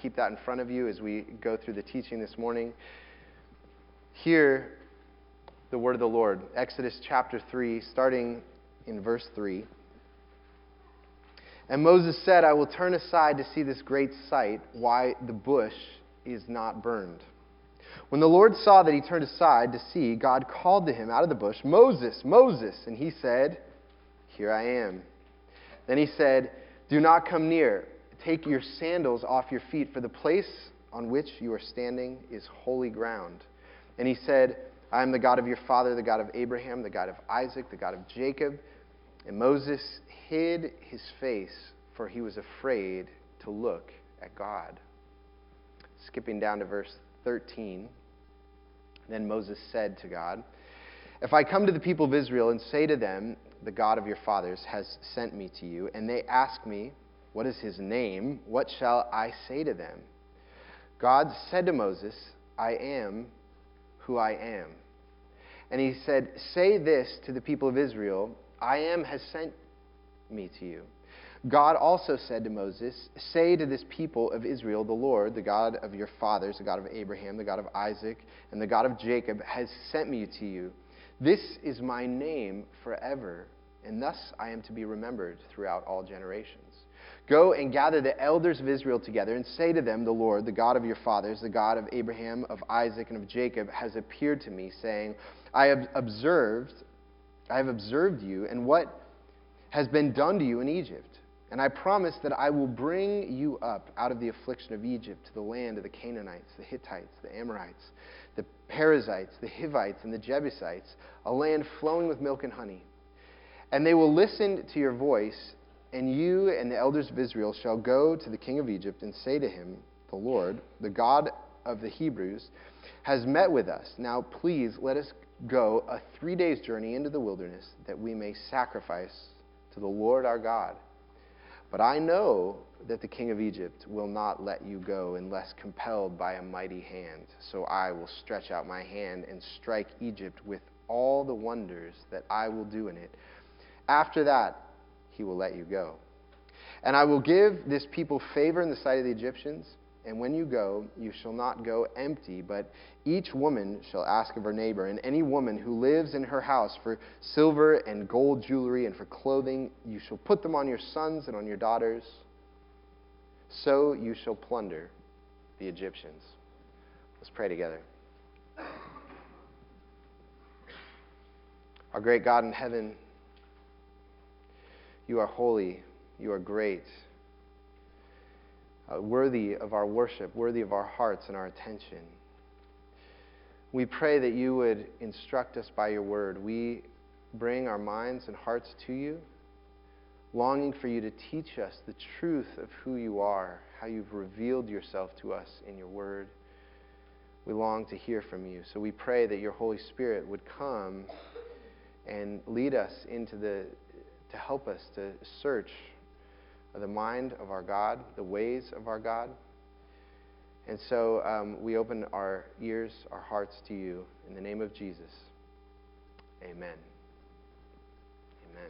keep that in front of you as we go through the teaching this morning. Hear the word of the Lord. Exodus chapter 3, starting in verse 3. And Moses said, I will turn aside to see this great sight, why the bush is not burned. When the Lord saw that he turned aside to see, God called to him out of the bush, Moses, Moses. And he said, Here I am. Then he said, Do not come near. Take your sandals off your feet, for the place on which you are standing is holy ground. And he said, I am the God of your father, the God of Abraham, the God of Isaac, the God of Jacob. And Moses hid his face, for he was afraid to look at God. Skipping down to verse 13. Then Moses said to God, If I come to the people of Israel and say to them, The God of your fathers has sent me to you, and they ask me, What is his name? What shall I say to them? God said to Moses, I am who I am. And he said, Say this to the people of Israel, I am has sent me to you. God also said to Moses, Say to this people of Israel, the Lord, the God of your fathers, the God of Abraham, the God of Isaac, and the God of Jacob, has sent me to you. This is my name forever, and thus I am to be remembered throughout all generations. Go and gather the elders of Israel together and say to them, The Lord, the God of your fathers, the God of Abraham, of Isaac, and of Jacob, has appeared to me, saying, I have observed you and what has been done to you in Egypt. And I promise that I will bring you up out of the affliction of Egypt to the land of the Canaanites, the Hittites, the Amorites, the Perizzites, the Hivites, and the Jebusites, a land flowing with milk and honey. And they will listen to your voice, and you and the elders of Israel shall go to the king of Egypt and say to him, The Lord, the God of the Hebrews, has met with us. Now please let us go a 3 days' journey into the wilderness, that we may sacrifice to the Lord our God. But I know that the king of Egypt will not let you go unless compelled by a mighty hand. So I will stretch out my hand and strike Egypt with all the wonders that I will do in it. After that, he will let you go. And I will give this people favor in the sight of the Egyptians. And when you go, you shall not go empty, but each woman shall ask of her neighbor, and any woman who lives in her house for silver and gold jewelry and for clothing, you shall put them on your sons and on your daughters. So you shall plunder the Egyptians. Let's pray together. Our great God in heaven, you are holy, you are great. Worthy of our worship, worthy of our hearts and our attention. We pray that you would instruct us by your word. We bring our minds and hearts to you, longing for you to teach us the truth of who you are, how you've revealed yourself to us in your word. We long to hear from you. So we pray that your Holy Spirit would come and lead us to help us to search the mind of our God, the ways of our God. And so we open our ears, our hearts to you. In the name of Jesus, amen. Amen.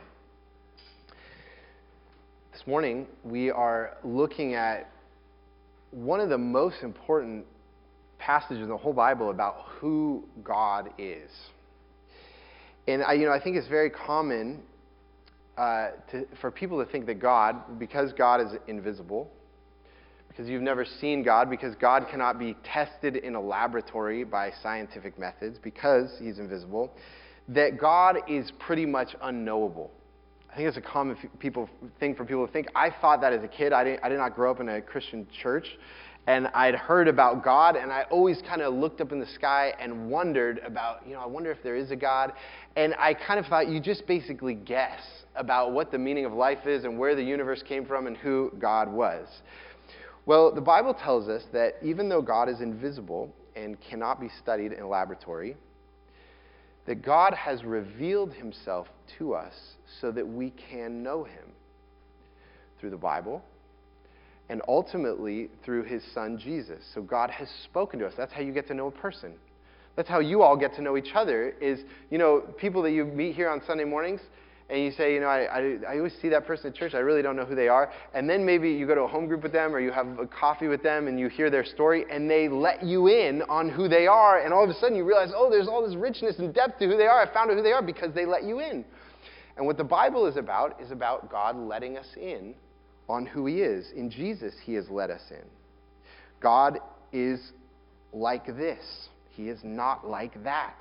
This morning, we are looking at one of the most important passages in the whole Bible about who God is. And I think it's very common for people to think that God, because God is invisible, because you've never seen God, because God cannot be tested in a laboratory by scientific methods, because he's invisible, that God is pretty much unknowable. I think it's a common thing for people to think. I thought that as a kid. I did not grow up in a Christian church, and I'd heard about God, and I always kind of looked up in the sky and wondered about, I wonder if there is a God. And I kind of thought you just basically guess about what the meaning of life is and where the universe came from and who God was. Well, the Bible tells us that even though God is invisible and cannot be studied in a laboratory, that God has revealed himself to us so that we can know him through the Bible and ultimately through his son Jesus. So God has spoken to us. That's how you get to know a person. That's how you all get to know each other is, people that you meet here on Sunday mornings, and you say, I always see that person at church. I really don't know who they are. And then maybe you go to a home group with them or you have a coffee with them and you hear their story and they let you in on who they are. And all of a sudden you realize, oh, there's all this richness and depth to who they are. I found out who they are because they let you in. And what the Bible is about God letting us in on who he is. In Jesus, he has let us in. God is like this. He is not like that.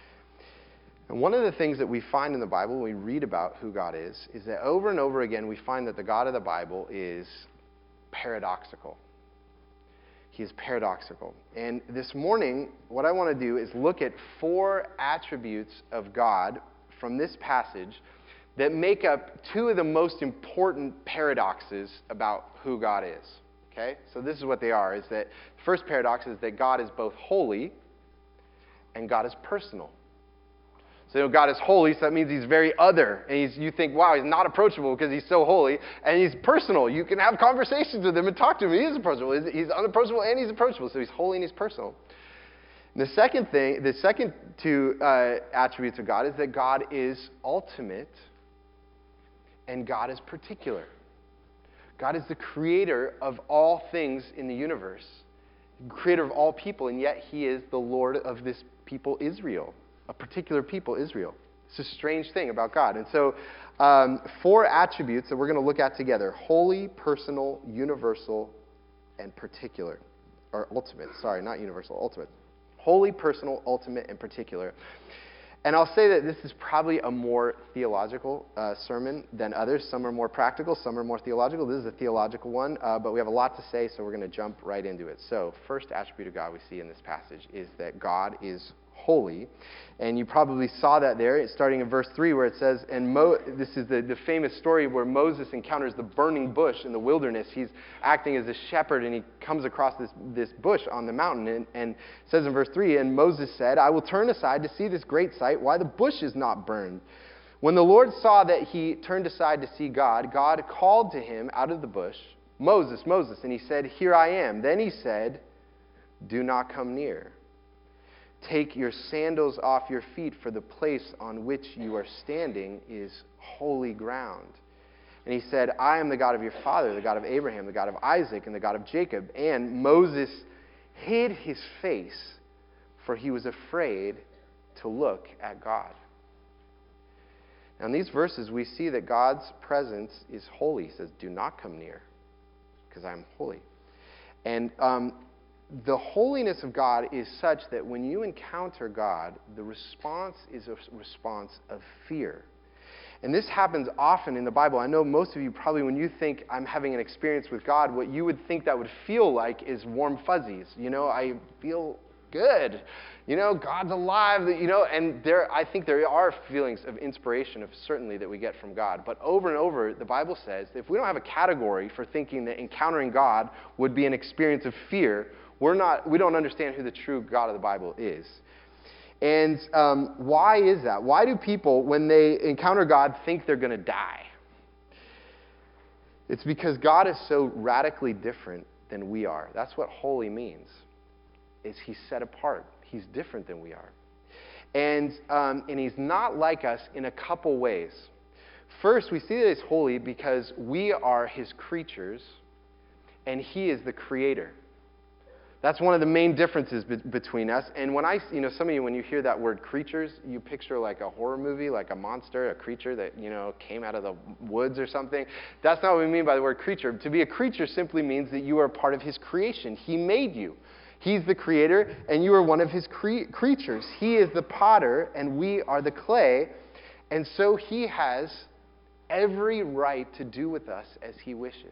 And one of the things that we find in the Bible when we read about who God is that over and over again we find that the God of the Bible is paradoxical. He is paradoxical. And this morning, what I want to do is look at 4 attributes of God from this passage that make up 2 of the most important paradoxes about who God is. Okay? So this is what they are, is that the first paradox is that God is both holy and God is personal. So God is holy, so that means he's very other. And you think, wow, he's not approachable because he's so holy. And he's personal. You can have conversations with him and talk to him. He is approachable. He's unapproachable and he's approachable. So he's holy and he's personal. And the second 2 attributes of God is that God is ultimate and God is particular. God is the creator of all things in the universe, creator of all people, and yet he is the Lord of this people, Israel. A particular people, Israel. It's a strange thing about God. And so 4 attributes that we're going to look at together. Holy, personal, universal, and particular. Or ultimate. Sorry, not universal, ultimate. Holy, personal, ultimate, and particular. And I'll say that this is probably a more theological sermon than others. Some are more practical, some are more theological. This is a theological one, but we have a lot to say, so we're going to jump right into it. So, first attribute of God we see in this passage is that God is holy. And you probably saw that there, starting in verse 3 where it says, this is the famous story where Moses encounters the burning bush in the wilderness. He's acting as a shepherd and he comes across this bush on the mountain. And it says in verse 3, and Moses said, I will turn aside to see this great sight, why the bush is not burned. When the Lord saw that he turned aside to see God, God called to him out of the bush, Moses, Moses. And he said, here I am. Then he said, do not come near. Take your sandals off your feet, for the place on which you are standing is holy ground. And he said, I am the God of your father, the God of Abraham, the God of Isaac, and the God of Jacob. And Moses hid his face, for he was afraid to look at God. Now in these verses, we see that God's presence is holy. He says, do not come near, because I am holy. And the holiness of God is such that when you encounter God, the response is a response of fear. And this happens often in the Bible. I know most of you probably, when you think I'm having an experience with God, what you would think that would feel like is warm fuzzies. I feel good. God's alive. And I think there are feelings of inspiration, certainly, that we get from God. But over and over, the Bible says that if we don't have a category for thinking that encountering God would be an experience of fear, we don't understand who the true God of the Bible is. And why is that? Why do people, when they encounter God, think they're going to die? It's because God is so radically different than we are. That's what holy means, is he's set apart. He's different than we are. And he's not like us in a couple ways. First, we see that he's holy because we are his creatures, and he is the creator. That's one of the main differences between us. And when some of you, when you hear that word creatures, you picture like a horror movie, like a monster, a creature that, came out of the woods or something. That's not what we mean by the word creature. To be a creature simply means that you are part of his creation. He made you. He's the creator, and you are one of his creatures. He is the potter, and we are the clay. And so he has every right to do with us as he wishes.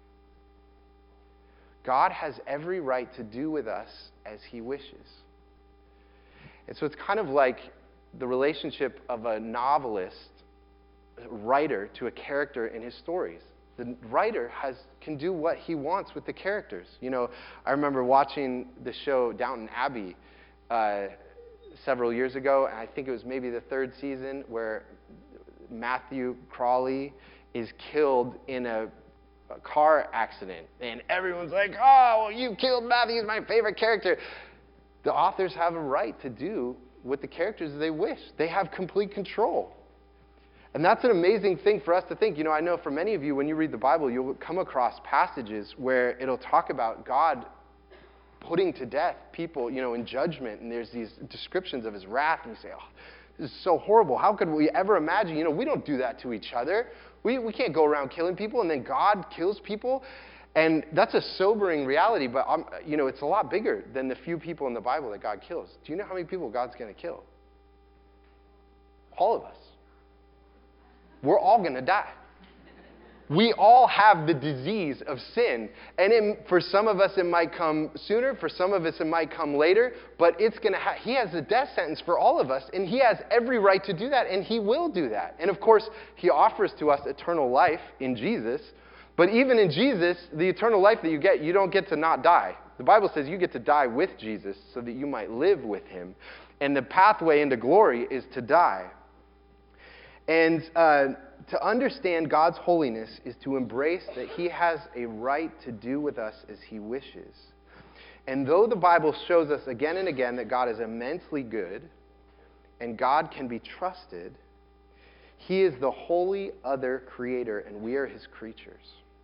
God has every right to do with us as he wishes. And so it's kind of like the relationship of a novelist, writer, to a character in his stories. The writer can do what he wants with the characters. I remember watching the show Downton Abbey several years ago, and I think it was maybe the 3rd season, where Matthew Crawley is killed in a car accident, and everyone's like, oh, well, you killed Matthew, he's my favorite character. The authors have a right to do with the characters they wish. They have complete control. And that's an amazing thing for us to think. I know for many of you, when you read the Bible, you'll come across passages where it'll talk about God putting to death people, in judgment. And there's these descriptions of his wrath. And you say, oh, this is so horrible. How could we ever imagine? We don't do that to each other. We can't go around killing people, and then God kills people. And that's a sobering reality. But, it's a lot bigger than the few people in the Bible that God kills. Do you know how many people God's going to kill? All of us. We're all going to die. We all have the disease of sin. And for some of us, it might come sooner. For some of us, it might come later. But it's going to he has a death sentence for all of us. And he has every right to do that. And he will do that. And of course, he offers to us eternal life in Jesus. But even in Jesus, the eternal life that you don't get to not die. The Bible says you get to die with Jesus so that you might live with him. And the pathway into glory is to die. And to understand God's holiness is to embrace that he has a right to do with us as he wishes. And though the Bible shows us again and again that God is immensely good and God can be trusted, he is the holy other creator and we are his creatures.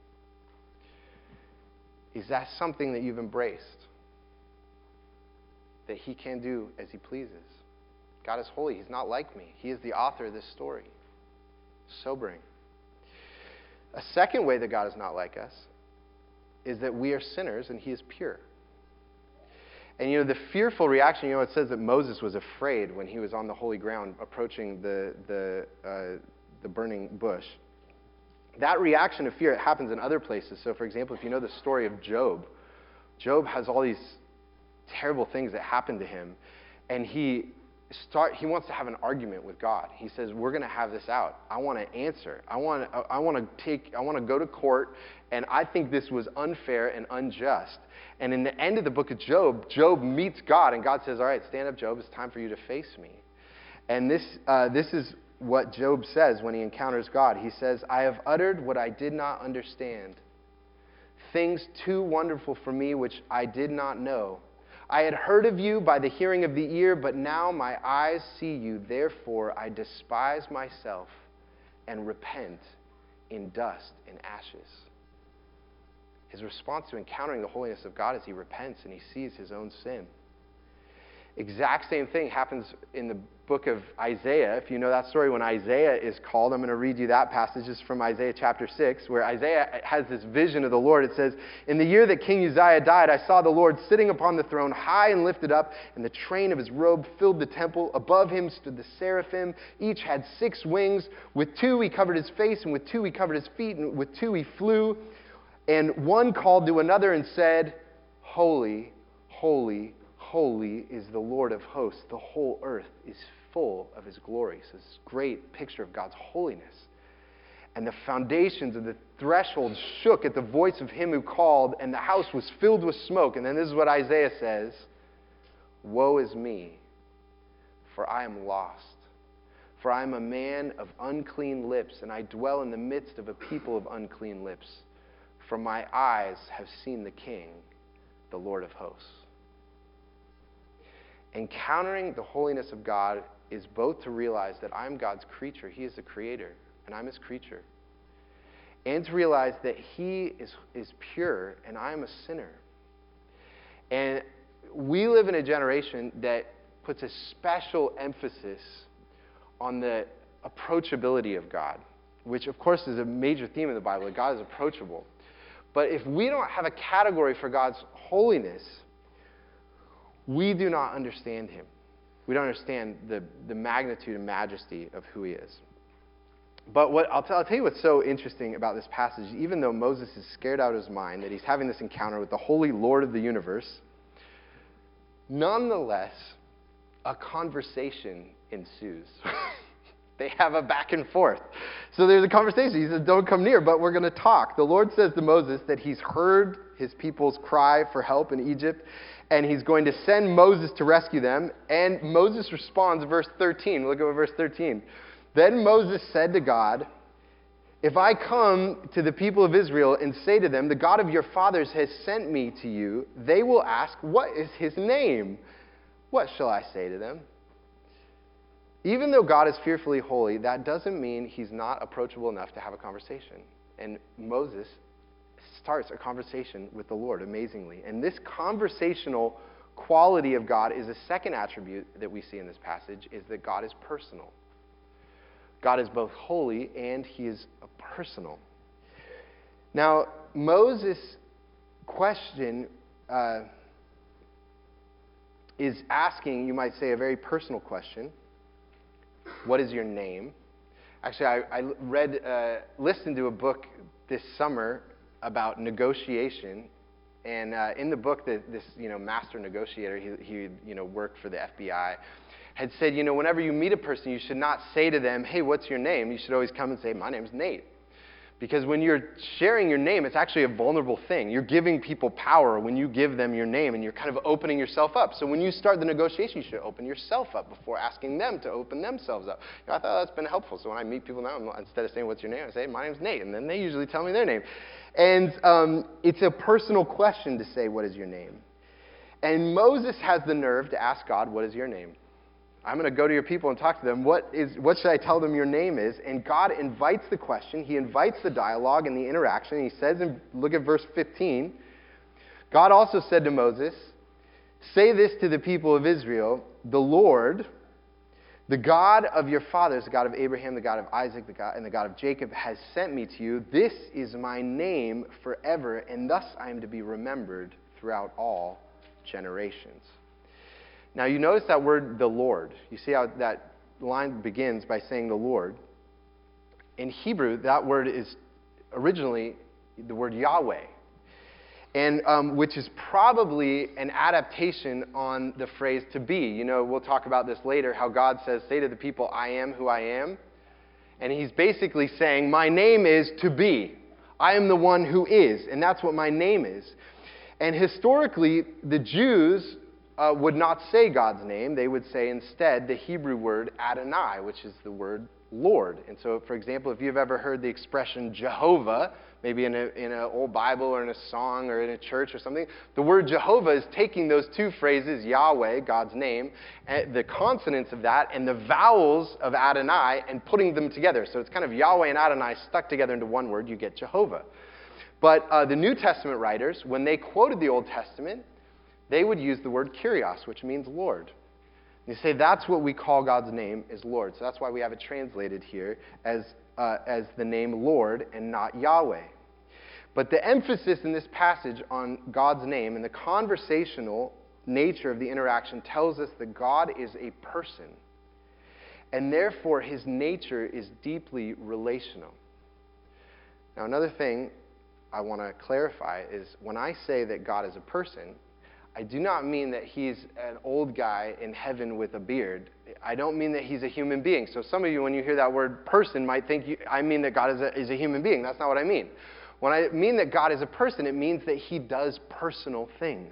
Is that something that you've embraced? That he can do as he pleases? God is holy. He's not like me. He is the author of this story. Sobering. A second way that God is not like us is that we are sinners and he is pure. And the fearful reaction, it says that Moses was afraid when he was on the holy ground approaching the burning bush. That reaction of fear, it happens in other places. So for example, if you know the story of Job, Job has all these terrible things that happen to him, and he wants to have an argument with God. He says, we're going to have this out. I want to answer. I want to go to court, and I think this was unfair and unjust. And in the end of the book of Job, Job meets God, and God says, all right, stand up, Job. It's time for you to face me. And this is what Job says when he encounters God. He says, I have uttered what I did not understand, things too wonderful for me which I did not know. I had heard of you by the hearing of the ear, but now my eyes see you. Therefore, I despise myself and repent in dust and ashes. His response to encountering the holiness of God is he repents and he sees his own sin. Exact same thing happens in the book of Isaiah. If you know that story, when Isaiah is called, I'm going to read you that passage. It's from Isaiah chapter 6, where Isaiah has this vision of the Lord. It says, in the year that King Uzziah died, I saw the Lord sitting upon the throne, high and lifted up, and the train of his robe filled the temple. Above him stood the seraphim. Each had 6 wings. With 2 he covered his face, and with 2 he covered his feet, and with 2 he flew. And one called to another and said, Holy, holy, holy is the Lord of hosts. The whole earth is full of his glory. So this great picture of God's holiness. And the foundations of the threshold shook at the voice of him who called, and the house was filled with smoke. And then this is what Isaiah says, Woe is me, for I am lost. For I am a man of unclean lips, and I dwell in the midst of a people of unclean lips. For my eyes have seen the King, the Lord of hosts. Encountering the holiness of God is both to realize that I'm God's creature. He is the creator, and I'm his creature. And to realize that he is pure, and I am a sinner. And we live in a generation that puts a special emphasis on the approachability of God, which, of course, is a major theme in the Bible, that God is approachable. But if we don't have a category for God's holiness, we do not understand him. We don't understand the magnitude and majesty of who he is. But I'll tell you what's so interesting about this passage. Even though Moses is scared out of his mind that he's having this encounter with the holy Lord of the universe, nonetheless, a conversation ensues. They have a back and forth. So there's a conversation. He says, don't come near, but we're going to talk. The Lord says to Moses that he's heard his people's cry for help in Egypt, and he's going to send Moses to rescue them. And Moses responds, verse 13. Look at verse 13. Then Moses said to God, if I come to the people of Israel and say to them, the God of your fathers has sent me to you, they will ask, what is his name? What shall I say to them? Even though God is fearfully holy, that doesn't mean he's not approachable enough to have a conversation. And Moses starts a conversation with the Lord amazingly. And this conversational quality of God is a second attribute that we see in this passage, is that God is personal. God is both holy and he is personal. Now, Moses' question is asking, you might say, a very personal question. What is your name? Actually, I listened to a book this summer about negotiation, and in the book, this master negotiator, he worked for the FBI, had said, whenever you meet a person, you should not say to them, "Hey, what's your name?" You should always come and say, "My name's Nate." Because when you're sharing your name, it's actually a vulnerable thing. You're giving people power when you give them your name, and you're kind of opening yourself up. So when you start the negotiation, you should open yourself up before asking them to open themselves up. I thought that's been helpful. So when I meet people now, instead of saying, "What's your name?" I say, "My name's Nate," and then they usually tell me their name. And it's a personal question to say, "What is your name?" And Moses has the nerve to ask God, "What is your name?" I'm going to go to your people and talk to them. What should I tell them your name is? And God invites the question. He invites the dialogue and the interaction. He says, look at verse 15. God also said to Moses, "Say this to the people of Israel, the Lord, the God of your fathers, the God of Abraham, the God of Isaac, and the God of Jacob, has sent me to you. This is my name forever, and thus I am to be remembered throughout all generations." Now, you notice that word, the Lord. You see how that line begins by saying the Lord. In Hebrew, that word is originally the word Yahweh, and which is probably an adaptation on the phrase to be. We'll talk about this later, how God says, "Say to the people, I am who I am." And he's basically saying, my name is to be. I am the one who is, and that's what my name is. And historically, the Jews would not say God's name. They would say instead the Hebrew word Adonai, which is the word Lord. And so, for example, if you've ever heard the expression Jehovah, maybe in an old Bible or in a song or in a church or something, the word Jehovah is taking those two phrases, Yahweh, God's name, and the consonants of that, and the vowels of Adonai, and putting them together. So it's kind of Yahweh and Adonai stuck together into one word. You get Jehovah. But the New Testament writers, when they quoted the Old Testament, they would use the word Kyrios, which means Lord. And they say that's what we call God's name is Lord. So that's why we have it translated here as the name Lord and not Yahweh. But the emphasis in this passage on God's name and the conversational nature of the interaction tells us that God is a person. And therefore, his nature is deeply relational. Now, another thing I want to clarify is when I say that God is a person, I do not mean that he's an old guy in heaven with a beard. I don't mean that he's a human being. So some of you, when you hear that word person, might think I mean that God is a human being. That's not what I mean. When I mean that God is a person, it means that he does personal things.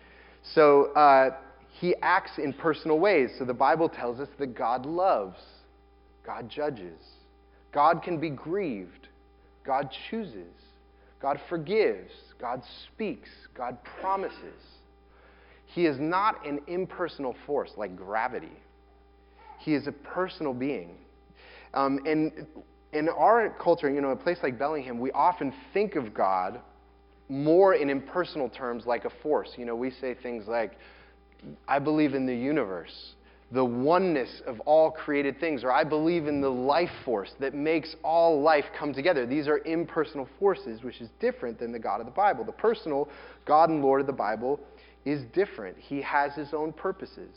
So he acts in personal ways. So the Bible tells us that God loves, God judges, God can be grieved, God chooses, God forgives, God speaks, God promises. He is not an impersonal force like gravity. He is a personal being. And in our culture, a place like Bellingham, we often think of God more in impersonal terms like a force. We say things like, I believe in the universe, the oneness of all created things, or I believe in the life force that makes all life come together. These are impersonal forces, which is different than the God of the Bible. The personal God and Lord of the Bible is different. He has his own purposes.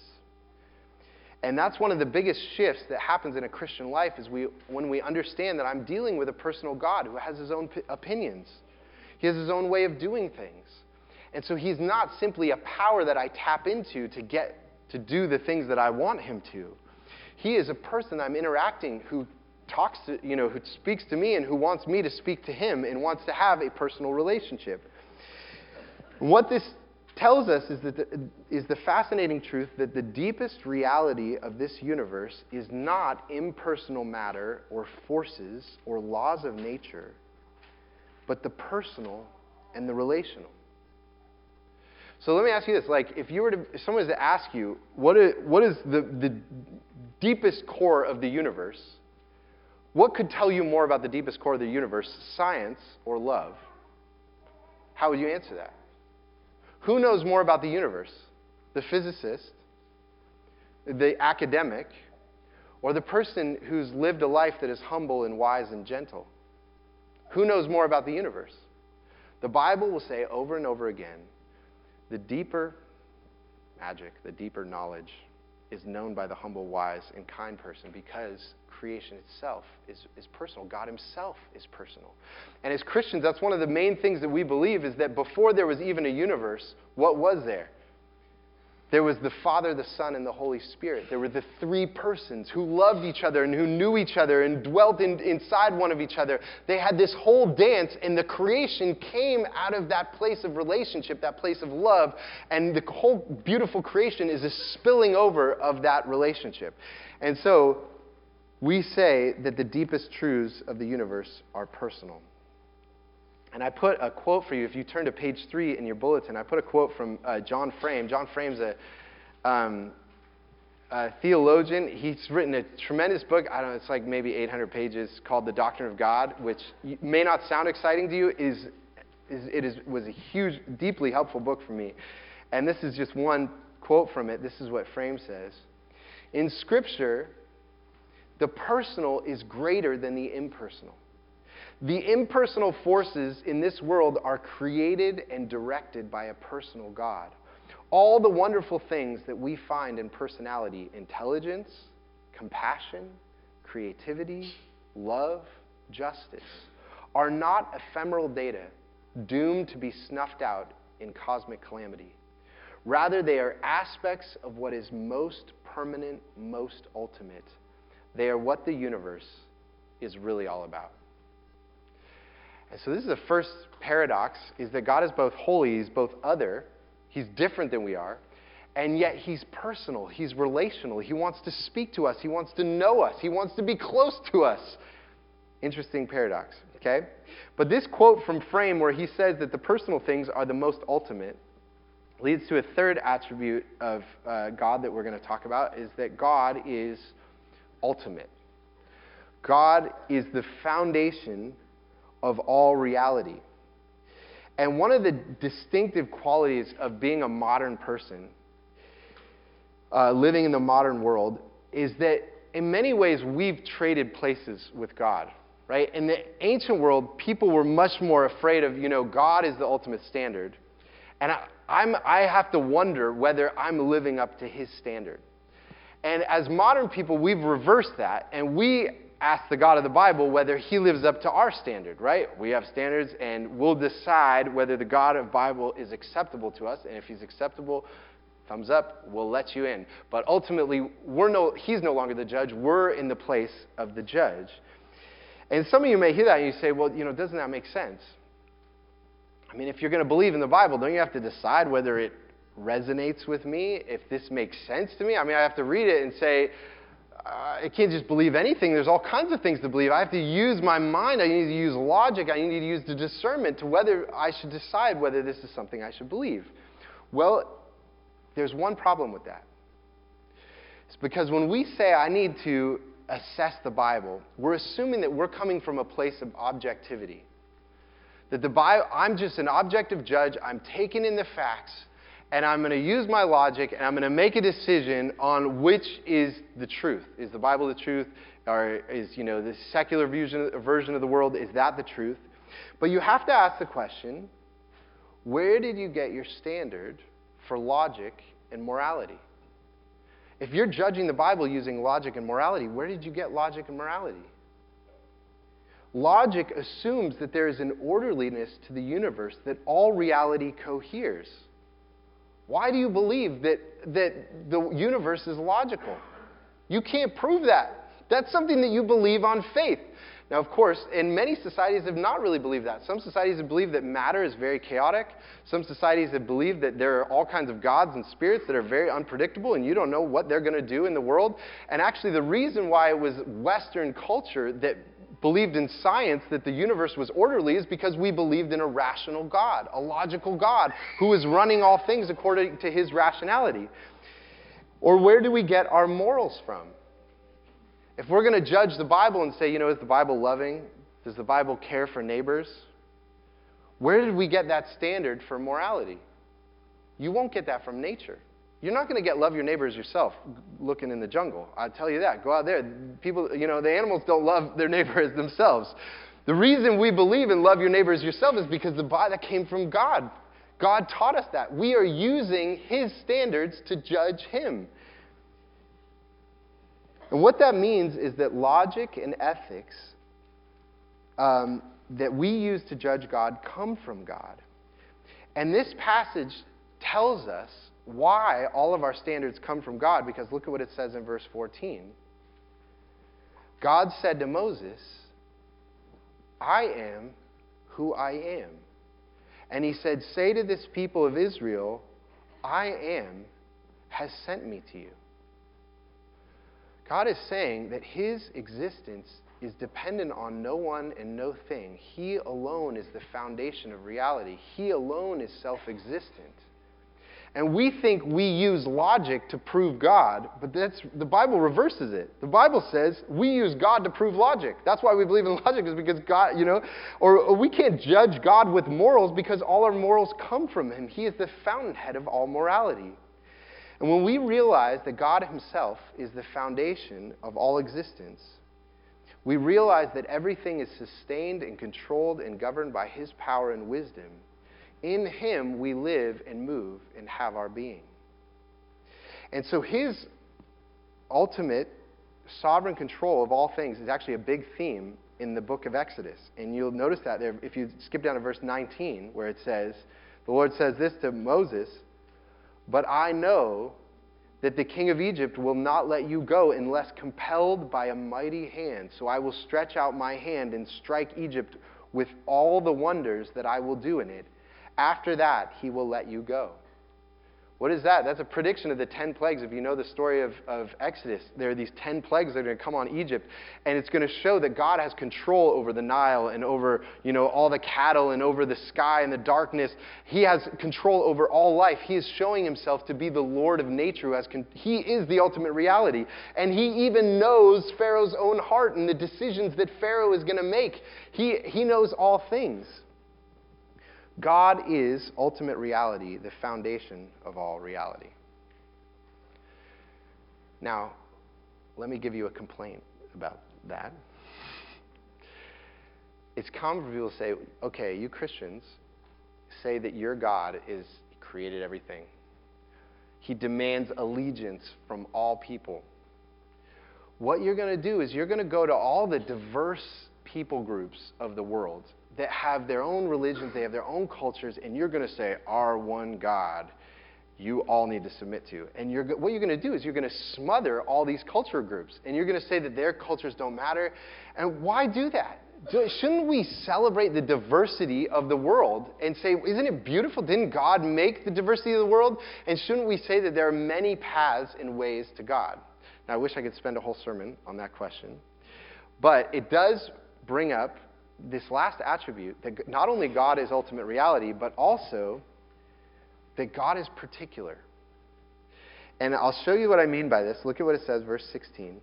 And that's one of the biggest shifts that happens in a Christian life is when we understand that I'm dealing with a personal God who has his own opinions. He has his own way of doing things. And so he's not simply a power that I tap into to get to do the things that I want him to. He is a person I'm interacting who talks to, who speaks to me and who wants me to speak to him and wants to have a personal relationship. And what this tells us is the fascinating truth that the deepest reality of this universe is not impersonal matter or forces or laws of nature, but the personal and the relational. So let me ask you this: if someone was to ask you, what is the deepest core of the universe, what could tell you more about the deepest core of the universe, science or love? How would you answer that? Who knows more about the universe? The physicist, the academic, or the person who's lived a life that is humble and wise and gentle? Who knows more about the universe? The Bible will say over and over again, the deeper magic, the deeper knowledge is known by the humble, wise, and kind person, because creation itself is personal. God himself is personal. And as Christians, that's one of the main things that we believe, is that before there was even a universe, what was there? There was the Father, the Son, and the Holy Spirit. There were the three persons who loved each other and who knew each other and dwelt inside one of each other. They had this whole dance, and the creation came out of that place of relationship, that place of love, and the whole beautiful creation is a spilling over of that relationship. And so we say that the deepest truths of the universe are personal. And I put a quote for you. If you turn to page 3 in your bulletin, I put a quote from John Frame. John Frame's a theologian. He's written a tremendous book. I don't know, it's like maybe 800 pages, called The Doctrine of God, which may not sound exciting to you. Was a huge, deeply helpful book for me. And this is just one quote from it. This is what Frame says. In Scripture, the personal is greater than the impersonal. The impersonal forces in this world are created and directed by a personal God. All the wonderful things that we find in personality, intelligence, compassion, creativity, love, justice, are not ephemeral data doomed to be snuffed out in cosmic calamity. Rather, they are aspects of what is most permanent, most ultimate. They are what the universe is really all about. And so this is the first paradox, is that God is both holy, he's both other, he's different than we are, and yet he's personal, he's relational, he wants to speak to us, he wants to know us, he wants to be close to us. Interesting paradox, okay? But this quote from Frame, where he says that the personal things are the most ultimate, leads to a third attribute of God that we're going to talk about, is that God is ultimate. God is the foundation of all reality. And one of the distinctive qualities of being a modern person, living in the modern world, is that in many ways we've traded places with God, right? In the ancient world, people were much more afraid of, God is the ultimate standard. And I have to wonder whether I'm living up to his standard. And as modern people, we've reversed that, and we ask the God of the Bible whether he lives up to our standard, right? We have standards, and we'll decide whether the God of the Bible is acceptable to us, and if he's acceptable, thumbs up, we'll let you in. But ultimately, he's no longer the judge. We're in the place of the judge. And some of you may hear that, and you say, well, doesn't that make sense? I mean, if you're going to believe in the Bible, don't you have to decide whether it resonates with me, if this makes sense to me? I mean, I have to read it and say, I can't just believe anything. There's all kinds of things to believe. I have to use my mind. I need to use logic. I need to use the discernment to whether I should decide whether this is something I should believe. Well, there's one problem with that. It's because when we say I need to assess the Bible, we're assuming that we're coming from a place of objectivity. That the Bible, I'm just an objective judge. I'm taking in the facts, and I'm going to use my logic, and I'm going to make a decision on which is the truth. Is the Bible the truth? Or is, the secular version of the world, is that the truth? But you have to ask the question, where did you get your standard for logic and morality? If you're judging the Bible using logic and morality, where did you get logic and morality? Logic assumes that there is an orderliness to the universe, that all reality coheres. Why do you believe that the universe is logical? You can't prove that. That's something that you believe on faith. Now, of course, in many societies have not really believed that. Some societies have believed that matter is very chaotic. Some societies have believed that there are all kinds of gods and spirits that are very unpredictable, and you don't know what they're going to do in the world. And actually, the reason why it was Western culture that believed in science that the universe was orderly is because we believed in a rational God, a logical God, who is running all things according to his rationality. Or where do we get our morals from? If we're going to judge the Bible and say, is the Bible loving? Does the Bible care for neighbors? Where did we get that standard for morality? You won't get that from nature. You're not going to get love your neighbors yourself looking in the jungle. I'll tell you that. Go out there. People, the animals don't love their neighbors themselves. The reason we believe in love your neighbors yourself is because that came from God. God taught us that. We are using His standards to judge Him. And what that means is that logic and ethics that we use to judge God come from God. And this passage tells us why all of our standards come from God, because look at what it says in verse 14. God said to Moses, I am who I am. And He said, say to this people of Israel, I am has sent me to you. God is saying that His existence is dependent on no one and no thing. He alone is the foundation of reality. He alone is self-existent. And we think we use logic to prove God, but the Bible reverses it. The Bible says we use God to prove logic. That's why we believe in logic, is because God, or we can't judge God with morals because all our morals come from Him. He is the fountainhead of all morality. And when we realize that God Himself is the foundation of all existence, we realize that everything is sustained and controlled and governed by His power and wisdom. In Him we live and move and have our being. And so His ultimate sovereign control of all things is actually a big theme in the book of Exodus. And you'll notice that there, if you skip down to verse 19, where it says, the Lord says this to Moses, but I know that the king of Egypt will not let you go unless compelled by a mighty hand. So I will stretch out my hand and strike Egypt with all the wonders that I will do in it. After that, He will let you go. What is that? That's a prediction of the 10 plagues. If you know the story of Exodus, there are these 10 plagues that are going to come on Egypt, and it's going to show that God has control over the Nile and over, all the cattle and over the sky and the darkness. He has control over all life. He is showing Himself to be the Lord of nature. He is the ultimate reality. And He even knows Pharaoh's own heart and the decisions that Pharaoh is going to make. He knows all things. God is ultimate reality, the foundation of all reality. Now, let me give you a complaint about that. It's common for people to say, okay, you Christians say that your God created everything. He demands allegiance from all people. What you're going to do is you're going to go to all the diverse people groups of the world that have their own religions, they have their own cultures, and you're going to say, our one God, you all need to submit to. And what you're going to do is you're going to smother all these culture groups, and you're going to say that their cultures don't matter. And why do that? Shouldn't we celebrate the diversity of the world and say, isn't it beautiful? Didn't God make the diversity of the world? And shouldn't we say that there are many paths and ways to God? Now, I wish I could spend a whole sermon on that question. But it does bring up this last attribute, that not only God is ultimate reality, but also that God is particular. And I'll show you what I mean by this. Look at what it says, verse 16.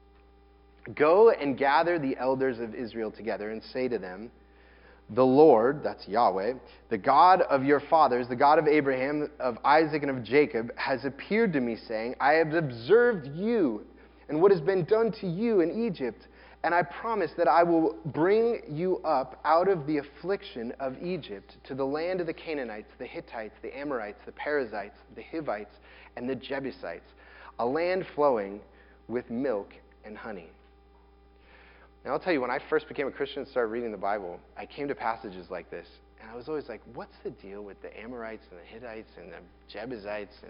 Go and gather the elders of Israel together and say to them, the Lord, that's Yahweh, the God of your fathers, the God of Abraham, of Isaac, and of Jacob, has appeared to me, saying, I have observed you and what has been done to you in Egypt, and I promise that I will bring you up out of the affliction of Egypt to the land of the Canaanites, the Hittites, the Amorites, the Perizzites, the Hivites, and the Jebusites, a land flowing with milk and honey. Now, I'll tell you, when I first became a Christian and started reading the Bible, I came to passages like this, and I was always like, what's the deal with the Amorites and the Hittites and the Jebusites and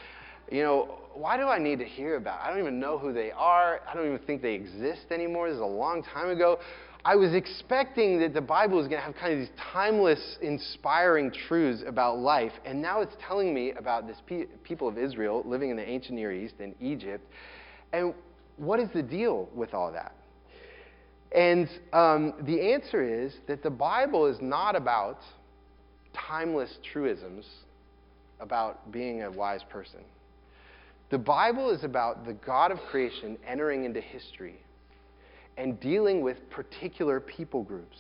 why do I need to hear about it? I don't even know who they are. I don't even think they exist anymore. This is a long time ago. I was expecting that the Bible was going to have kind of these timeless, inspiring truths about life, and now it's telling me about this people of Israel living in the ancient Near East in Egypt. And what is the deal with all that? And the answer is that the Bible is not about timeless truisms about being a wise person. The Bible is about the God of creation entering into history and dealing with particular people groups.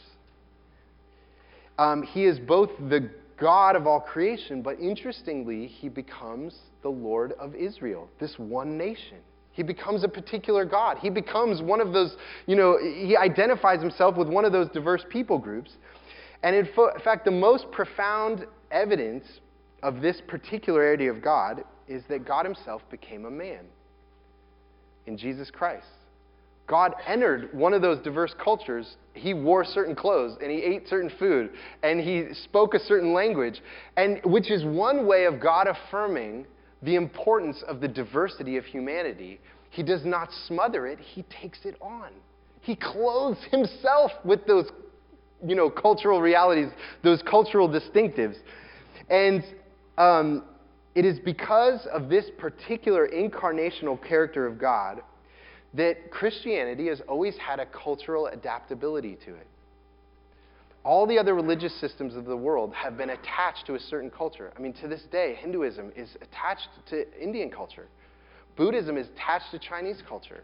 He is both the God of all creation, but interestingly, he becomes the Lord of Israel, this one nation. He becomes a particular God. He becomes one of those, he identifies himself with one of those diverse people groups. And in fact, the most profound evidence of this particularity of God is that God himself became a man in Jesus Christ. God entered one of those diverse cultures. He wore certain clothes, and he ate certain food, and he spoke a certain language, and which is one way of God affirming the importance of the diversity of humanity. He does not smother it, he takes it on. He clothes himself with those, cultural realities, those cultural distinctives. And it is because of this particular incarnational character of God that Christianity has always had a cultural adaptability to it. All the other religious systems of the world have been attached to a certain culture. I mean, to this day, Hinduism is attached to Indian culture. Buddhism is attached to Chinese culture.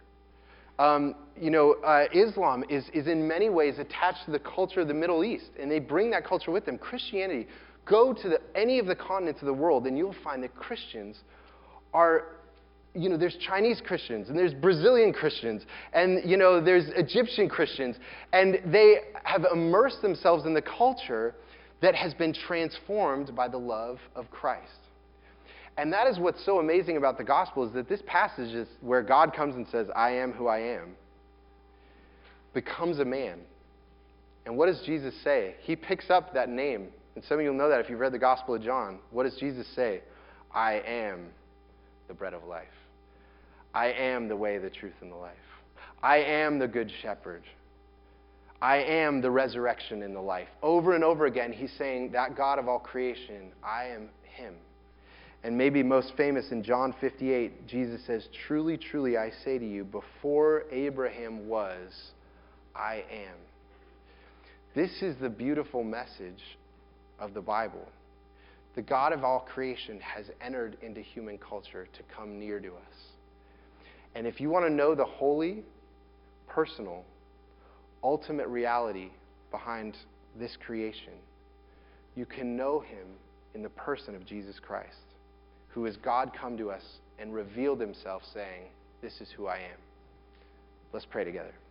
Islam is in many ways attached to the culture of the Middle East, and they bring that culture with them. Christianity, go to any of the continents of the world, and you'll find that Christians are, there's Chinese Christians, and there's Brazilian Christians, and, there's Egyptian Christians, and they have immersed themselves in the culture that has been transformed by the love of Christ. And that is what's so amazing about the gospel, is that this passage is where God comes and says, I am who I am, becomes a man. And what does Jesus say? He picks up that name. And some of you will know that if you've read the Gospel of John. What does Jesus say? I am the bread of life. I am the way, the truth, and the life. I am the good shepherd. I am the resurrection and the life. Over and over again, he's saying, that God of all creation, I am him. And maybe most famous in John 58, Jesus says, truly, truly, I say to you, before Abraham was, I am. This is the beautiful message of the Bible. The God of all creation has entered into human culture to come near to us. And if you want to know the holy, personal, ultimate reality behind this creation, you can know him in the person of Jesus Christ, who is God come to us and revealed himself saying, this is who I am. Let's pray together.